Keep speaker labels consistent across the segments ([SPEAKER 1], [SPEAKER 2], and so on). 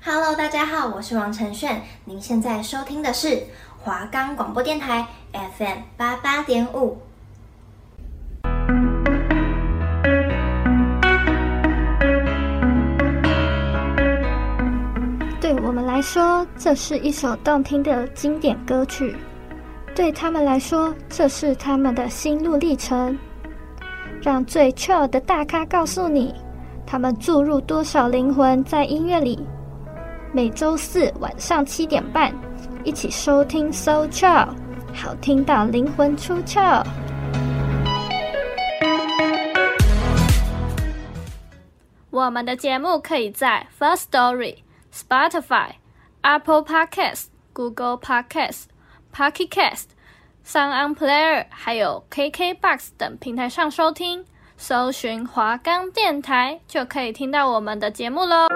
[SPEAKER 1] Hello， 大家好，我是王承炫，您現在收聽的是華岡廣播電臺 FM 88.5。
[SPEAKER 2] 對我們來說，這是一首動聽的經典歌曲；對他們來說，這是他們的心路歷程。讓最 chill 的大咖告訴你，他們注入多少靈魂在音樂裡。每週四晚上7點半，一起收聽 So Chill， 好聽到靈魂出竅。
[SPEAKER 3] 我們的節目可以在 Firstory、Spotify、Apple Podcasts、Google Podcasts、Pocket Cast、Sound On Player 還有 KKBOX 等平台上收聽，搜尋華岡電台就可以聽到我們的節目咯。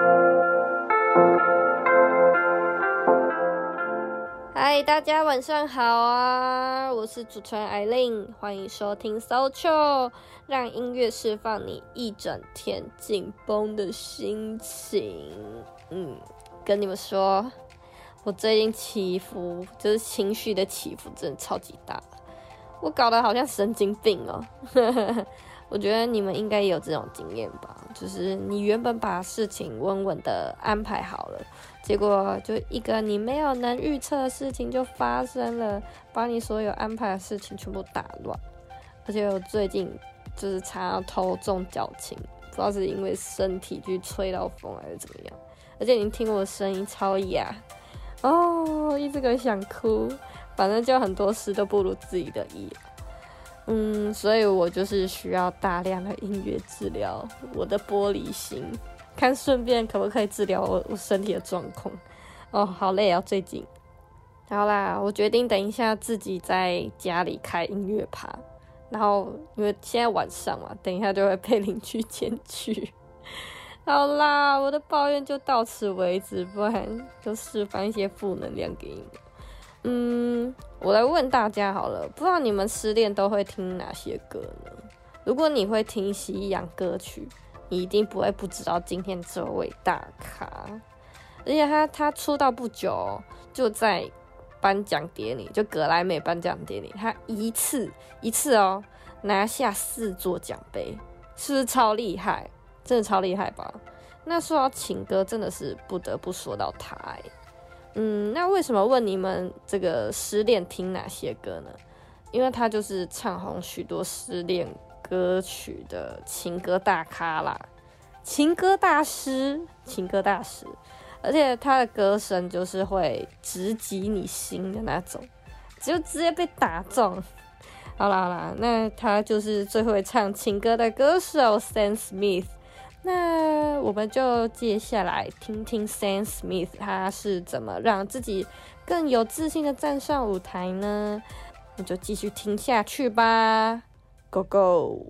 [SPEAKER 3] 嗨，大家晚上好啊！我是主持人艾琳，歡迎收聽 So Chill， 讓音樂釋放你一整天緊繃的心情。跟你們說，我最近起伏，就是情緒的起伏真的超級大，我搞得好像神經病哦。我覺得你們應該也有這種經驗吧，就是你原本把事情穩穩的安排好了，結果就一個你沒有能預測的事情就發生了，把你所有安排的事情全部打亂。而且我最近就是常常頭重腳輕，不知道是因為身體去吹到風還是怎麼樣。而且你聽我的聲音超啞哦，一直很想哭，反正就很多事都不如自己的意。所以我就是需要大量的音樂治療我的玻璃心，看順便可不可以治療我身體的狀況。哦，好累啊，最近。好啦，我決定等一下自己在家裡開音樂趴，然後因為現在晚上嘛，等一下就會被鄰居檢舉。好啦，我的抱怨就到此為止，不然就釋放一些負能量給你們。我來問大家好了，不知道你們失戀都會聽哪些歌呢？如果你會聽西洋歌曲，你一定不會不知道今天這位大咖，而且他出道不久，就在頒獎典禮，就格萊美頒獎典禮，他一次哦拿下4座獎盃，是不是超厲害？真的超厲害吧？那說到情歌，真的是不得不說到他那為什麼問你們這個失戀聽哪些歌呢？因為他就是唱紅許多失戀歌曲的情歌大咖啦，情歌大師，而且他的歌聲就是會直擊你心的那種，就直接被打中。好啦，那他就是最會唱情歌的歌手 Sam Smith。那我們就接下來聽聽 Sam Smith 他是怎麼讓自己更有自信的站上舞台呢？那就繼續聽下去吧 ，Go Go！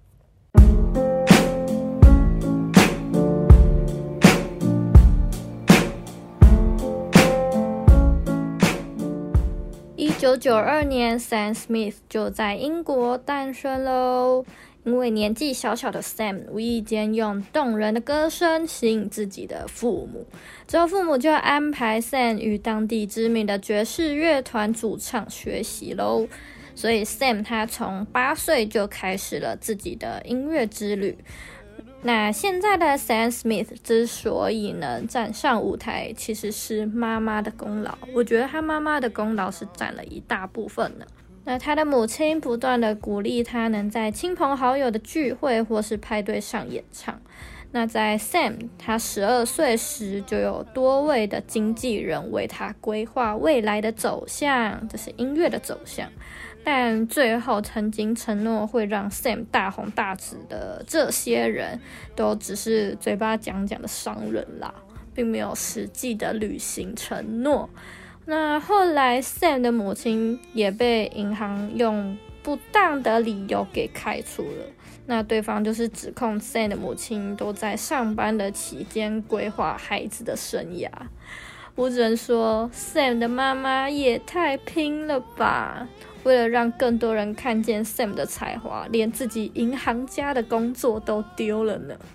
[SPEAKER 3] 1992年 Sam Smith 就在英國誕生嘍。因為年紀小小的 Sam 無意間用動人的歌聲吸引自己的父母，之後父母就安排 Sam 與當地知名的爵士樂團主唱學習嘍。所以 Sam 他從8歲就開始了自己的音樂之旅。那現在的 Sam Smith 之所以能站上舞台，其實是媽媽的功勞。我覺得他媽媽的功勞是佔了一大部分的。那他的母親不斷的鼓勵他能在親朋好友的聚會或是派對上演唱。那在 Sam 他12歲時，就有多位的經紀人為他規劃未來的走向，這是音樂的走向。但最後曾經承諾會讓 Sam 大紅大紫的這些人，都只是嘴巴講講的商人啦，並沒有實際的履行承諾。那後來 Sam 的母親也被銀行用不當的理由給開除了。那對方就是指控 Sam 的母親都在上班的期間規劃孩子的生涯。我只能說 Sam 的媽媽也太拼了吧，為了讓更多人看見 Sam 的才華，連自己銀行家的工作都丟了呢。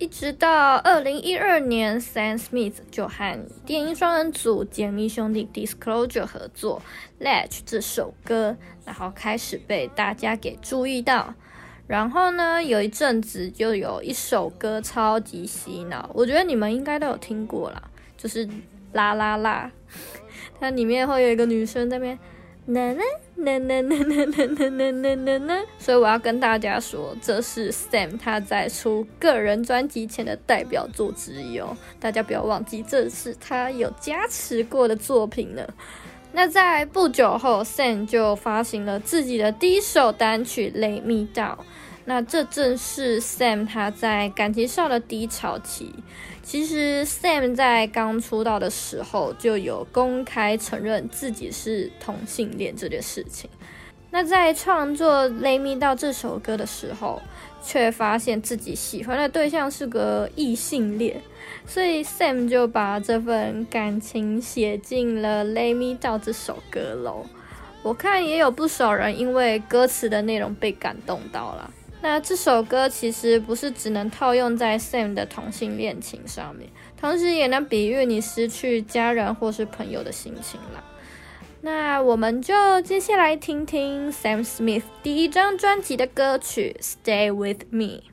[SPEAKER 3] 一直到2012年 Sam Smith 就和電音雙人組傑尼兄弟 Disclosure 合作 Latch 這首歌，然後開始被大家給注意到。然後呢，有一陣子就有一首歌超級洗腦，我覺得你們應該都有聽過啦，就是啦啦啦，它裡面會有一個女生在那邊啦啦啦啦啦啦啦啦啦啦，所以我要跟大家說，這是 Sam 他在出個人專輯前的代表作之一哦，大家不要忘記，這是他有加持過的作品呢。那在不久後 Sam 就發行了自己的第一首單曲 Lay Me Down， 那這正是 Sam 他在感情上的低潮期。其實 Sam 在剛出道的時候就有公開承認自己是同性戀這件事情。那在創作 Lay Me Down 這首歌的時候，卻發現自己喜歡的對象是個異性戀，所以 Sam 就把這份感情寫進了 Lay Me Down 這首歌咯。我看也有不少人因為歌詞的內容被感動到了。那這首歌其實不是只能套用在 Sam 的同性戀情上面，同時也能比喻你失去家人或是朋友的心情啦。那我們就接下來聽聽 Sam Smith 第一張專輯的歌曲 Stay With Me。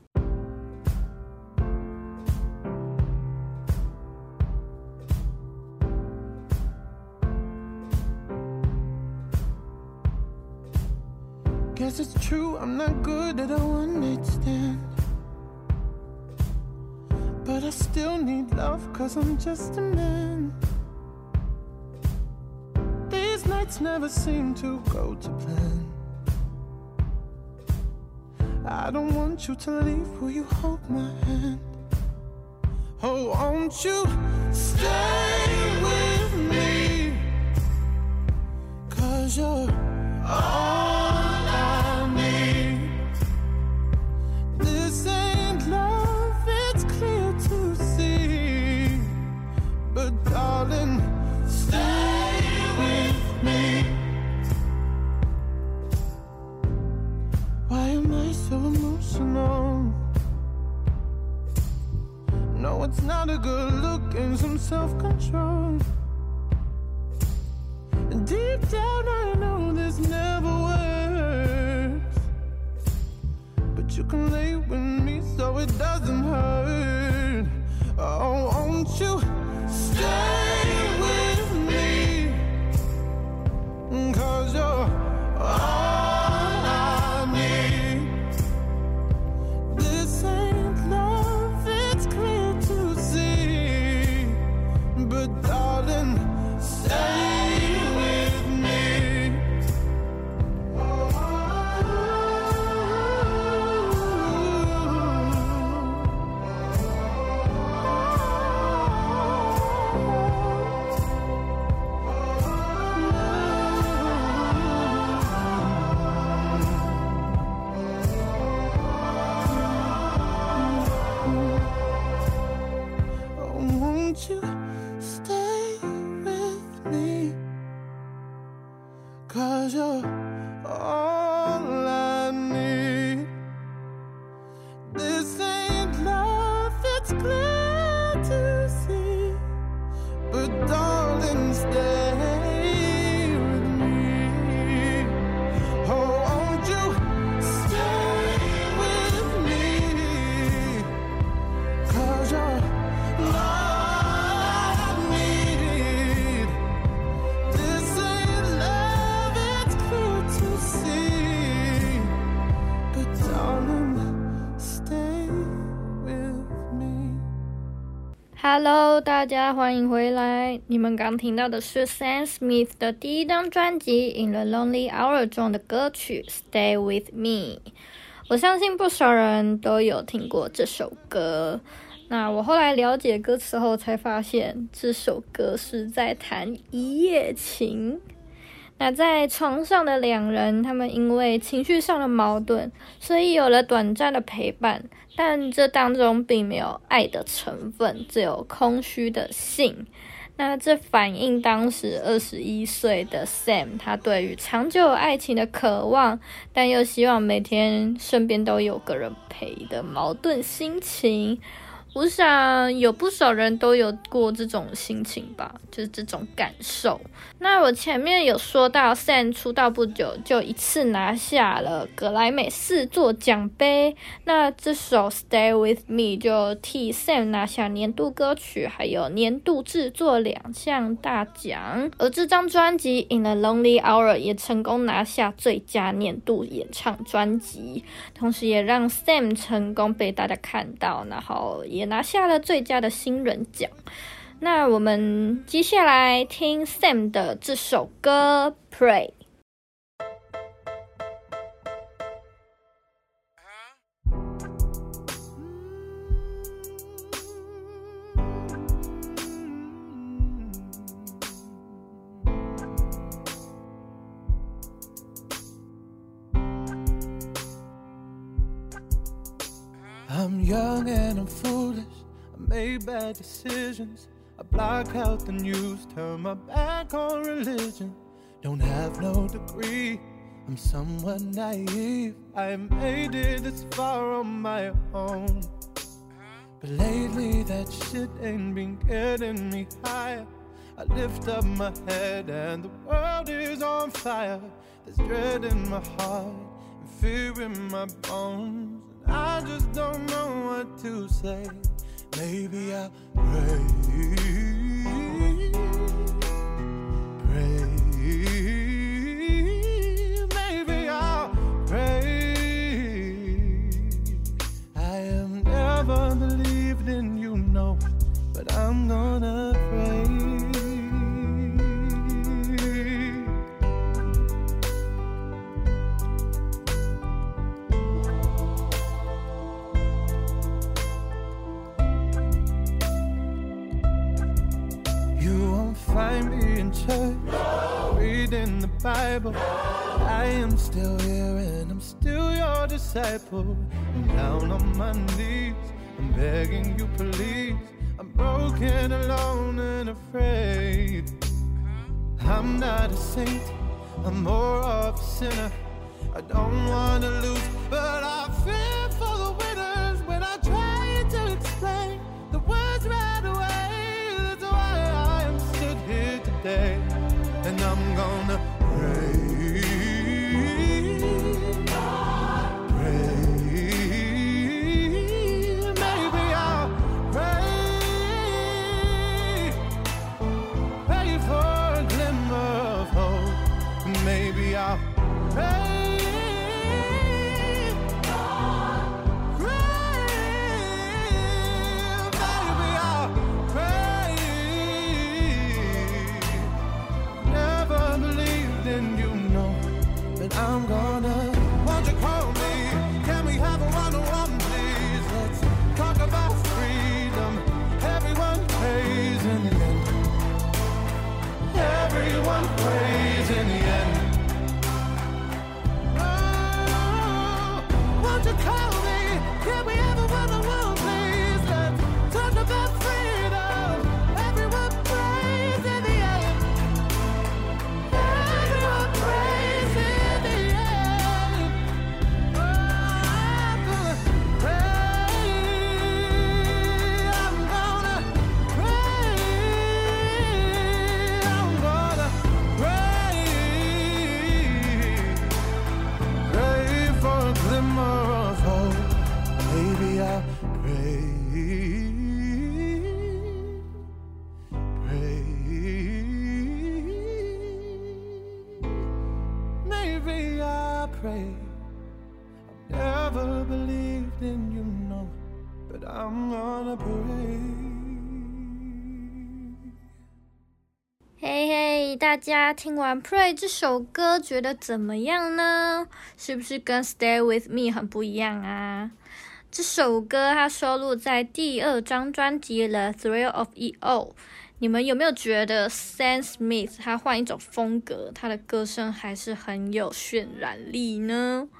[SPEAKER 4] Guess it's true, I'm not good at a one-night stand, but I still need love, cause I'm just a man. These nights never seem to go to plan. I don't want you to leave, will you hold my hand? Oh, won't you stay with me, cause you're all darling, stay with me. Why am I so emotional? No, it's not a good look and some self-control. Deep down I know this never works, but you can lay with me so it doesn't hurt. Oh, won't you stay with me, cause you're all I need. This ain't love, it's clear to see, but darling, stay with me. Won't you stay with me, cause you're all I need. This ain't love, it's clear to see, but darling, stay with me. Oh, won't you stay with me, cause you're
[SPEAKER 3] Hello， 大家歡迎回來。你們剛聽到的是 Sam Smith 的第一張專輯《In the Lonely Hour》中的歌曲《Stay With Me》。我相信不少人都有聽過這首歌。那我後來了解歌詞後，才發現這首歌是在談一夜情。那在床上的兩人，他們因為情緒上的矛盾，所以有了短暫的陪伴，但這當中並沒有愛的成分，只有空虛的性。 那這反映當時21歲的 Sam， 他對於長久愛情的渴望，但又希望每天身邊都有個人陪的矛盾心情。我想有不少人都有過這種心情吧，就是這種感受。那我前面有說到 Sam 出道不久就一次拿下了格萊美4座獎盃，那這首 Stay With Me 就替 Sam 拿下年度歌曲還有年度製作2項大獎，而這張專輯 In a Lonely Hour 也成功拿下最佳年度演唱專輯，同時也讓 Sam 成功被大家看到，然後也拿下了最佳的新人獎。那我們接下來聽 Sam 的這首歌 Pray。
[SPEAKER 4] I'm young and I'm foolish, I made bad decisions, I block out the news, turn my back on religion. Don't have no degree, I'm somewhat naive, I made it this far on my own. But lately that shit ain't been getting me higher. I lift up my head and the world is on fire. There's dread in my heart and fear in my bones. I just don't know what to say. Maybe I'll pray, pray. Maybe I'll pray. I have never believed in you, no, but I'm gonna pray. Find me in church, reading the Bible. I am still here and I'm still your disciple. I'm down on my knees, I'm begging you please. I'm broken, alone and afraid. I'm not a saint, I'm more of a sinner. I don't wanna lose, but I fear for the winners. When I try to explain the words right away, today, and I'm gonna pray, pray. Maybe I'll pray, pray for a glimmer of hope. Maybe I'll pray. I'm gonna, won't you call me? Can we have a one-on-one, please? Let's talk about freedom. Everyone prays in the end. Everyone prays in the end. Oh, won't you call me? Can we have a one-on-one, please? Let's talk about freedom. Everyone prays in the end. Everyone prays in the end. Pray. I've never believed in you, no, but I'm gonna pray.
[SPEAKER 3] 嘿嘿，大家聽完 Pray 這首歌覺得怎麼樣呢？是不是跟 Stay With Me 很不一樣啊？這首歌它收錄在第2張專輯 The Thrill of It All。你們有沒有覺得 Sam Smith 他換一種風格，他的歌聲還是很有渲染力呢？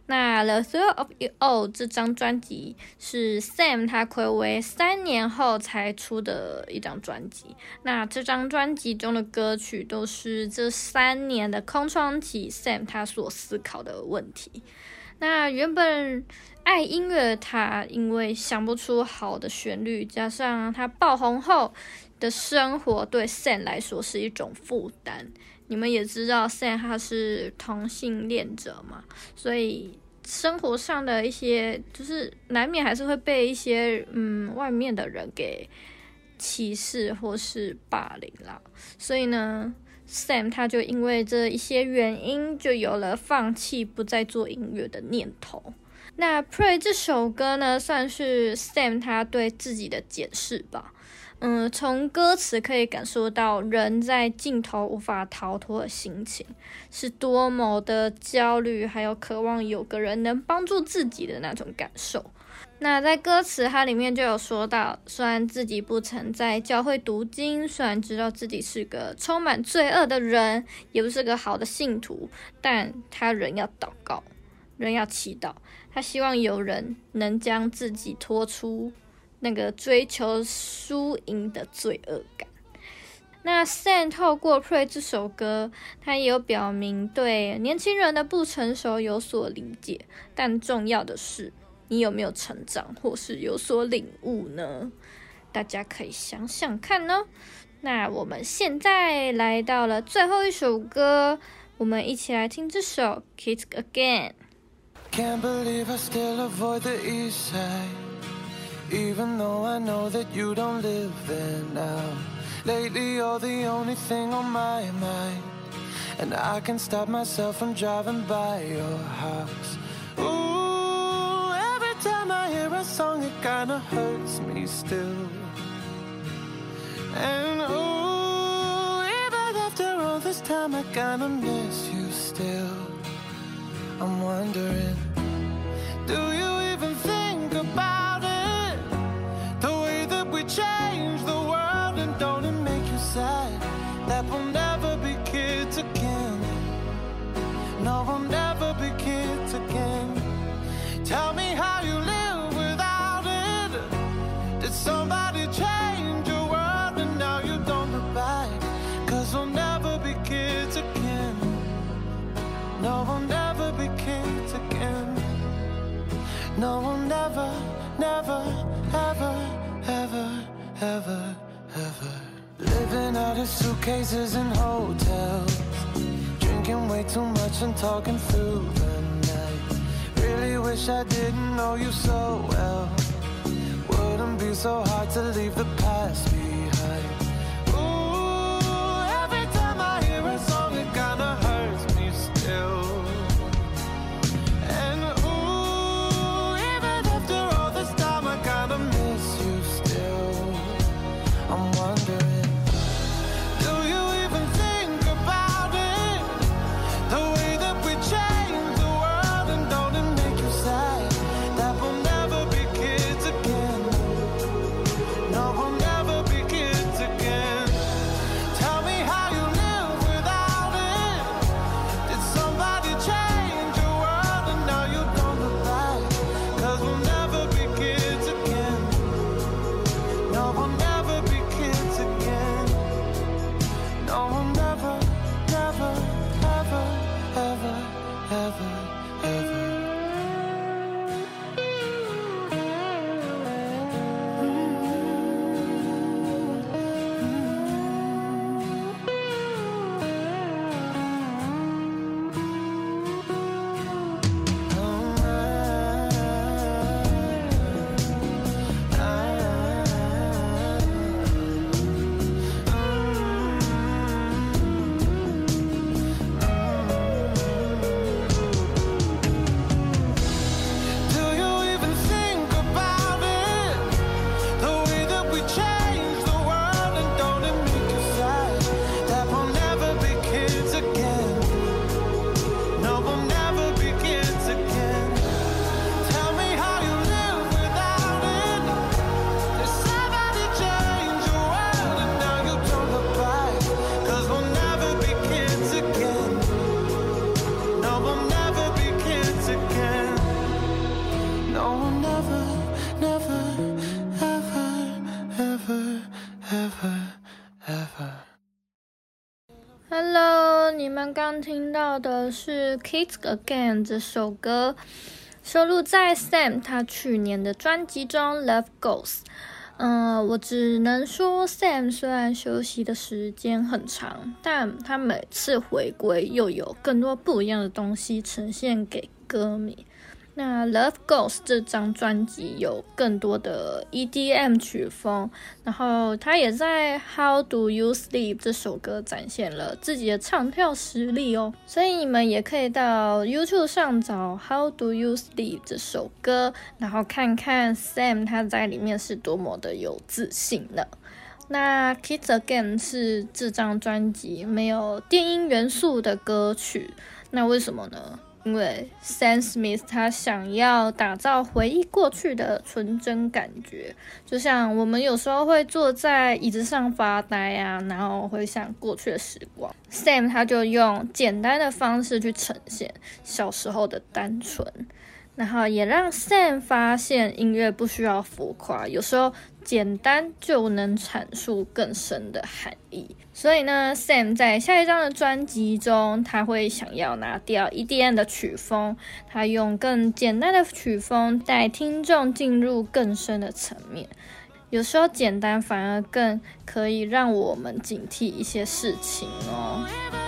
[SPEAKER 3] 那《The Thrill of It All》這張專輯是 Sam 他睽違3年後才出的一張專輯。那這張專輯中的歌曲都是這3年的空窗期 Sam 他所思考的問題。那原本愛音樂的他，因為想不出好的旋律，加上他爆紅後的生活對 Sam 來說是一種負擔。你們也知道 Sam 他是同性戀者嘛，所以生活上的一些就是難免還是會被一些外面的人給歧視或是霸凌啦。所以呢 Sam 他就因為這一些原因，就有了放棄不再做音樂的念頭。那 Pray 這首歌呢，算是 Sam 他對自己的檢視吧。從歌詞可以感受到人在盡頭無法逃脫的心情，是多麼的焦慮，還有渴望有個人能幫助自己的那種感受。那在歌詞它裡面就有說到，雖然自己不曾在教會讀經，雖然知道自己是個充滿罪惡的人，也不是個好的信徒，但他仍要禱告，仍要祈禱，他希望有人能將自己拖出那個追求輸贏的罪惡感。那 Sam 透過 Pray 這首歌，他也有表明對年輕人的不成熟有所理解，但重要的是你有沒有成長或是有所領悟呢？大家可以想想看呢。那我們現在來到了最後一首歌，我們一起來聽這首 Kids Again。
[SPEAKER 4] Can't believe I still avoid the east side, even though I know that you don't live there now. Lately you're the only thing on my mind, and I can't stop myself from driving by your house. Ooh, every time I hear a song it kinda hurts me still. And ooh, even after all this time I kinda miss you still. I'm wondering, do you even think about it? The way that we change the world, and don't it make you sad that we'll never be kids again? No, we'll never be kids again. Tell me how you live without it. Did somebody change your world and now you don't look back? 'Cause we'll never be kids again. No, we'll never be kids again. No, we'll never, never, ever, ever, ever, ever. Living out of suitcases and hotels, drinking way too much and talking through the night. Really wish I didn't know you so well. Wouldn't be so hard to leave the past behind. Ooh, every time I hear a song it kinda hurts me still. And ooh, even after all this time I kinda miss you still. I'm wondering, do you even think about it? The way that we change the world, and don't it make you sad that we'll never be kids again? No, we'll never be
[SPEAKER 2] Hello， 你們剛聽到的是《Kids Again》這首歌，收錄在 Sam 他去年的專輯中《Love Goes》。我只能說 Sam 雖然休息的時間很長，但他每次回歸又有更多不一樣的東西呈現給歌迷。那《Love Goes》這張專輯有更多的 EDM 曲風，然後他也在《How Do You Sleep》這首歌展現了自己的唱跳實力哦，所以你們也可以到 YouTube 上找《How Do You Sleep》這首歌，然後看看 Sam 他在裡面是多麼的有自信呢。那《Kids Again》是這張專輯沒有電音元素的歌曲，那為什麼呢？因為 Sam Smith 他想要打造回憶過去的純真感覺，就像我們有時候會坐在椅子上發呆啊，然後回想過去的時光。Sam 他就用簡單的方式去呈現小時候的單純，然後也讓 Sam 發現音樂不需要浮誇，有時候簡單就能闡述更深的含義。所以呢 Sam 在下一張的專輯中，他會想要拿掉 EDM 的曲風，他用更簡單的曲風帶聽眾進入更深的層面。有時候簡單反而更可以讓我們警惕一些事情哦。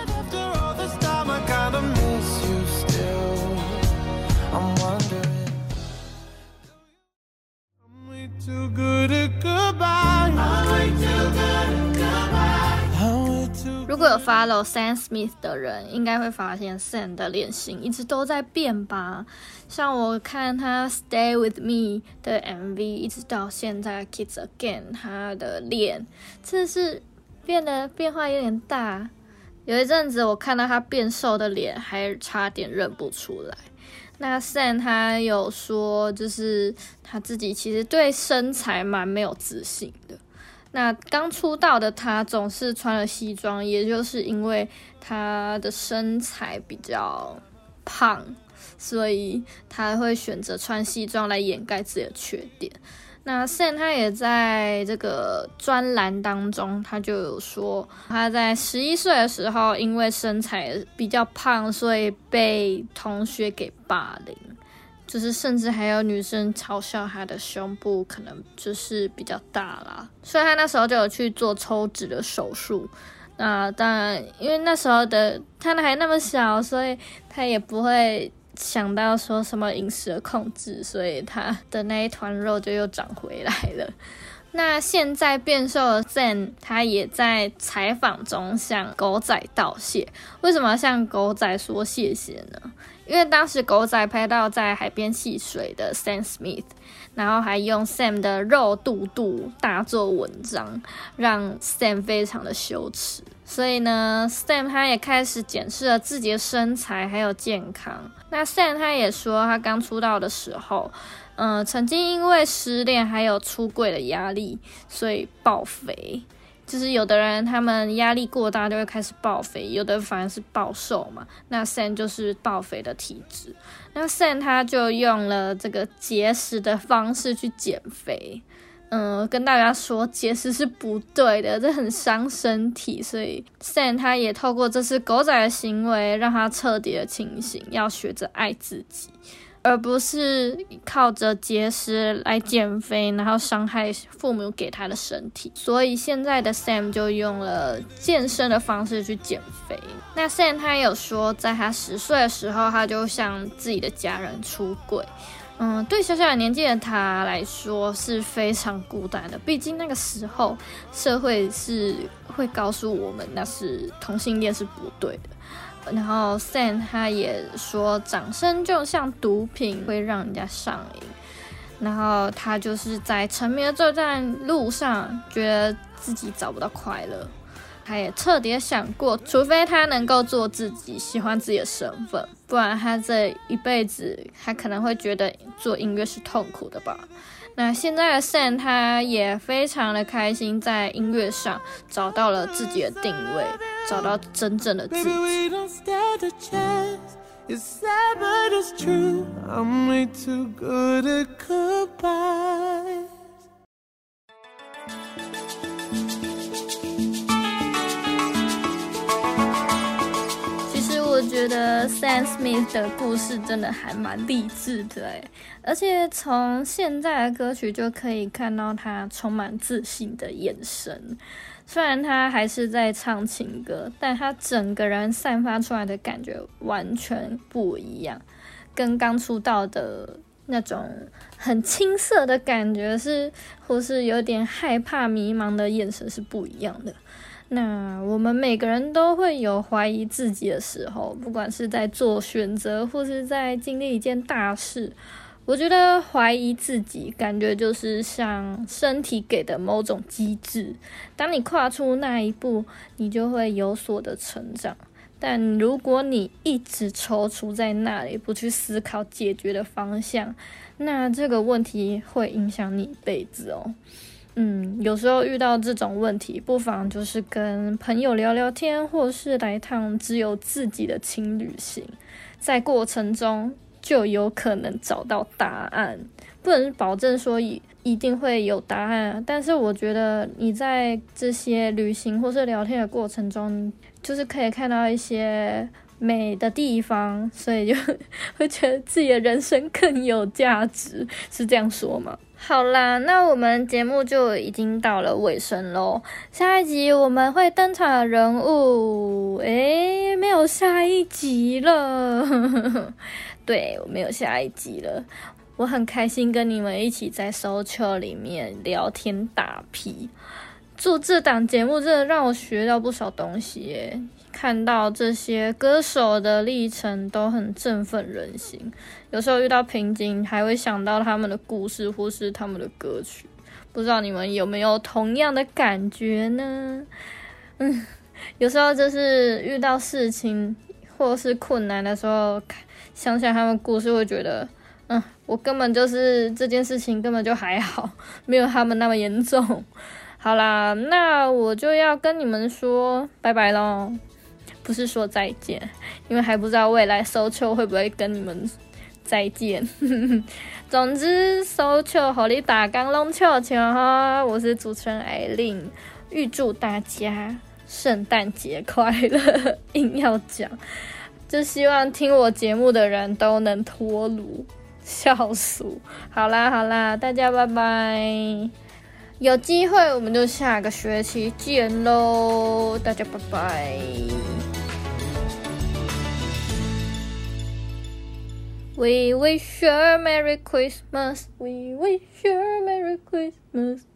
[SPEAKER 2] 如果有 follow Sam Smith 的人，應該會發現 Sam 的臉型一直都在變吧。像我看他 Stay With Me 的 MV， 一直到現在 Kids Again， 他的臉真的是變化有點大。有一陣子我看到他變瘦的臉，還差點認不出來。那 Sam 他有說，就是他自己其實對身材蠻沒有自信的。那剛出道的他總是穿了西裝，也就是因為他的身材比較胖，所以他會選擇穿西裝來掩蓋自己的缺點。那 Sam 他也在這個專欄當中，他就有說他在11歲的時候，因為身材比較胖，所以被同學給霸凌。就是甚至還有女生嘲笑他的胸部可能就是比較大啦，所以他那時候就有去做抽脂的手術。那當然，因為那時候的他還那麼小，所以他也不會想到說什麼飲食的控制，所以他的那一團肉就又長回來了。那現在變瘦的 Sam， 他也在採訪中向狗仔道謝。為什麼要向狗仔說謝謝呢？因為當時狗仔拍到在海邊戲水的 Sam Smith， 然後還用 Sam 的肉肚肚大做文章，讓 Sam 非常的羞恥。所以呢 Sam 他也開始檢視了自己的身材還有健康。那 Sam 他也說，他剛出道的時候曾經因為失戀還有出櫃的壓力，所以爆肥。就是有的人他們壓力過大就會開始爆肥，有的人反而是暴瘦嘛。那 Sam 就是爆肥的體質。那 Sam 他就用了這個節食的方式去減肥。跟大家說節食是不對的，這很傷身體。所以 Sam 他也透過這次狗仔的行為，讓他徹底的清醒，要學着愛自己，而不是靠着節食來減肥，然後傷害父母給他的身體。所以現在的 Sam 就用了健身的方式去減肥。那 Sam 他有說，在他10歲的時候，他就向自己的家人出櫃。對小小的年紀的他來說是非常孤單的，畢竟那個時候社會是會告訴我們那是同性戀是不對的。然後 Sam 他也說，掌聲就像毒品，會讓人家上癮。然後他就是在成名的這段路上，覺得自己找不到快樂。他也徹底想過，除非他能夠做自己，喜歡自己的身份，不然他這一輩子他可能會覺得做音樂是痛苦的吧。那現在的 Sam 他也非常的開心，在音樂上找到了自己的定位，找到真正的自己。 覺得 Sam Smith 的故事真的還蠻勵志的耶，而且從現在的歌曲就可以看到他充滿自信的眼神。雖然他還是在唱情歌，但他整個人散發出來的感覺完全不一樣，跟剛出道的那種很青澀的感覺或是有點害怕迷茫的眼神是不一樣的。那我們每個人都會有懷疑自己的時候，不管是在做選擇或是在經歷一件大事。我覺得懷疑自己感覺就是像身體給的某種機制，當你跨出那一步，你就會有所的成長。但如果你一直踌躇在那裡，不去思考解決的方向，那這個問題會影響你一輩子哦。有時候遇到這種問題，不妨就是跟朋友聊聊天，或是來趟只有自己的輕旅行，在過程中就有可能找到答案，不能保證說一定會有答案，但是我覺得你在這些旅行或是聊天的過程中，就是可以看到一些美的地方，所以就會覺得自己的人生更有價值，是這樣說嗎？好啦，那我們節目就已經到了尾聲咯。下一集我們會登場的人物，沒有下一集了。對，我沒有下一集了。我很開心跟你們一起在 SoulChill 裡面聊天打屁。做這檔節目真的讓我學到不少東西耶，看到這些歌手的歷程都很振奮人心。有時候遇到瓶頸，還會想到他們的故事或是他們的歌曲。不知道你們有沒有同樣的感覺呢？有時候就是遇到事情或是困難的時候，想想他們故事，會覺得我根本就是這件事情根本就還好，沒有他們那麼嚴重。好啦，那我就要跟你們說拜拜咯，不是說再見，因為還不知道未來 SoulChill 會不會跟你們再見。總之 SoulChill 給你大家攏笑笑哈，我是主持人艾琳，預祝大家聖誕節快樂，硬要講，就希望聽我節目的人都能脫魯，笑死。好啦，大家拜拜。有機會我們就下個學期見咯，大家拜拜。We wish you a Merry Christmas. We wish you a Merry Christmas.